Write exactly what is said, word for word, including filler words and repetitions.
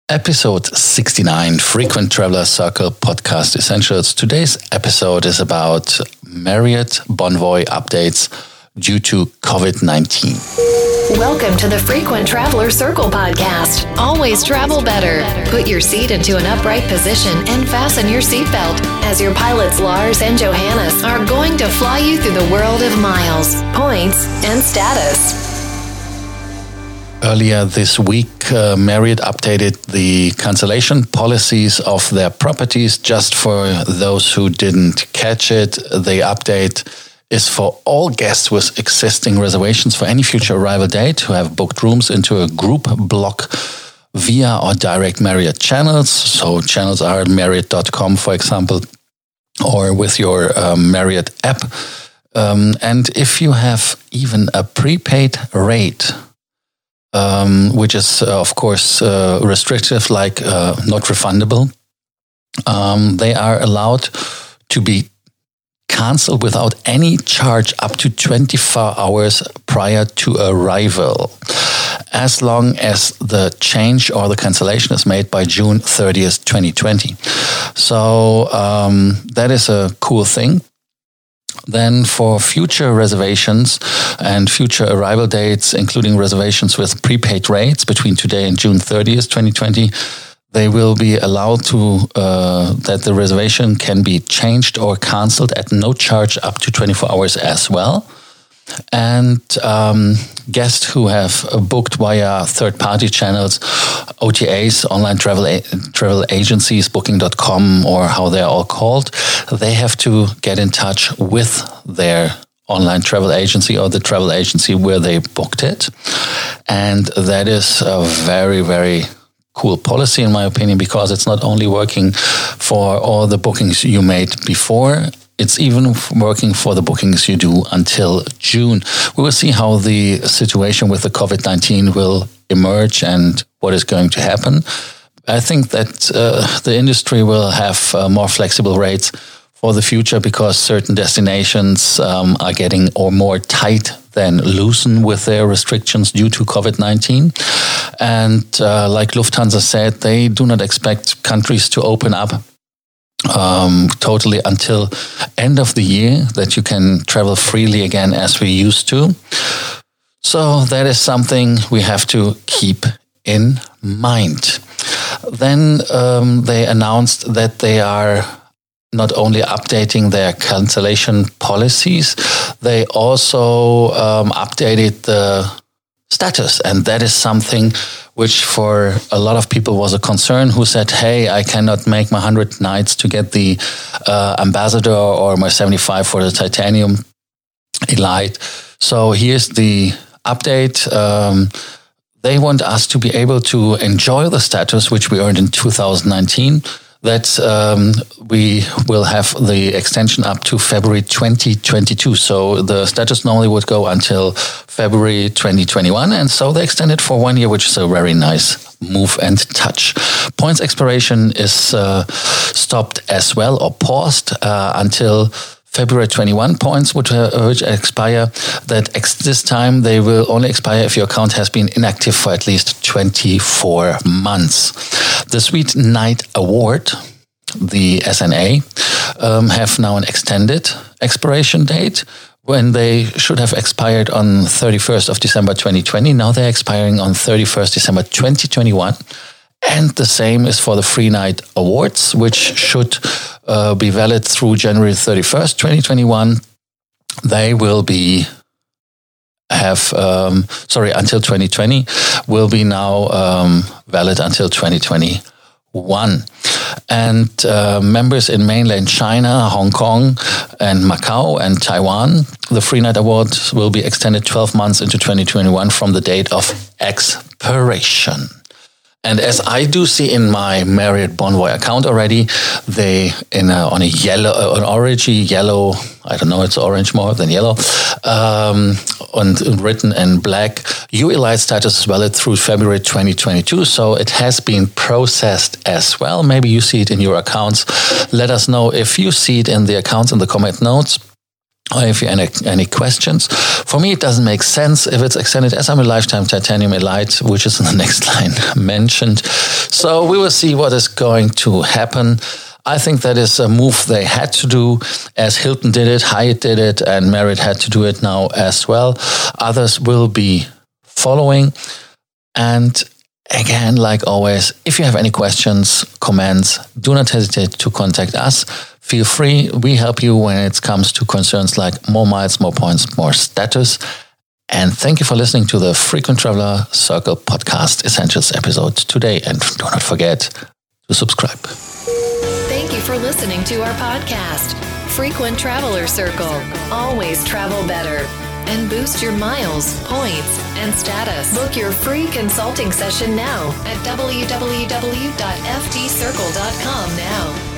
Episode sixty-nine, Frequent Traveler Circle Podcast Essentials. Today's episode is about Marriott Bonvoy updates due to covid nineteen. Welcome to the Frequent Traveler Circle Podcast. Always travel better. Put your seat into an upright position and fasten your seatbelt as your pilots Lars and Johannes are going to fly you through the world of miles, points, and status. Earlier this week, uh, Marriott updated the cancellation policies of their properties. Just for those who didn't catch it, the update is for all guests with existing reservations for any future arrival date who have booked rooms into a group block via or direct Marriott channels. So channels are Marriott dot com, for example, or with your um, Marriott app. Um, and if you have even a prepaid rate, Um, which is, uh, of course, uh, restrictive, like uh, not refundable. Um, they are allowed to be cancelled without any charge up to twenty-four hours prior to arrival, as long as the change or the cancellation is made by June thirtieth, twenty twenty. So um, that is a cool thing. Then for future reservations and future arrival dates, including reservations with prepaid rates between today and June thirtieth, twenty twenty, they will be allowed to, uh, that the reservation can be changed or cancelled at no charge up to twenty-four hours as well. And um, guests who have booked via third-party channels, O T As, online travel a- travel agencies, booking dot com, or how they're all called, they have to get in touch with their online travel agency or the travel agency where they booked it. And that is a very, very cool policy, in my opinion, because it's not only working for all the bookings you made before, it's even working for the bookings you do until June. We will see how the situation with the covid nineteen will emerge and what is going to happen. I think that uh, the industry will have uh, more flexible rates for the future because certain destinations um, are getting or more tight than loosen with their restrictions due to covid nineteen. And uh, like Lufthansa said, they do not expect countries to open up Um, totally until end of the year, that you can travel freely again as we used to. So that is something we have to keep in mind. Then um, they announced that they are not only updating their cancellation policies, they also um, updated the status. And that is something which for a lot of people was a concern, who said, hey, I cannot make my one hundred nights to get the uh, Ambassador or my seventy-five for the Titanium Elite. So here's the update. Um, they want us to be able to enjoy the status which we earned in two thousand nineteen, that um, we will have the extension up to February twenty twenty-two. So the status normally would go until February twenty twenty-one. And so they extended for one year, which is a very nice move and touch. Points expiration is uh, stopped as well, or paused uh, until February twenty-one. Points which, uh, which expire. That ex- this time they will only expire if your account has been inactive for at least twenty-four months. The Sweet Night Award, the S N A, um, have now an extended expiration date when they should have expired on thirty-first of December twenty twenty. Now they're expiring on thirty-first December twenty twenty-one. And the same is for the Free Night Awards, which should uh, be valid through January thirty-first, twenty twenty-one. They will be have, um, sorry, until twenty twenty, will be now um, valid until twenty twenty-one. And uh, members in mainland China, Hong Kong, and Macau, and Taiwan, the Free Night Award will be extended twelve months into twenty twenty-one from the date of expiration. And as I do see in my Marriott Bonvoy account already, they in a, on a yellow, uh, an orangey yellow, I don't know, it's orange more than yellow, um, and written in black, U Elite status is valid through February twenty twenty-two. So it has been processed as well. Maybe you see it in your accounts. Let us know if you see it in the accounts in the comment notes. or if you have any, any questions. For me, it doesn't make sense if it's extended, as I'm a lifetime titanium elite, which is in the next line mentioned. So we will see what is going to happen. I think that is a move they had to do, as Hilton did it, Hyatt did it, and Marriott had to do it now as well. Others will be following. And again, like always, if you have any questions, comments, do not hesitate to contact us. Feel free. We help you when it comes to concerns like more miles, more points, more status. And thank you for listening to the Frequent Traveler Circle Podcast Essentials episode today. And do not forget to subscribe. Thank you for listening to our podcast, Frequent Traveler Circle. Always travel better and boost your miles, points, and status. Book your free consulting session now at w w w dot f t circle dot com now.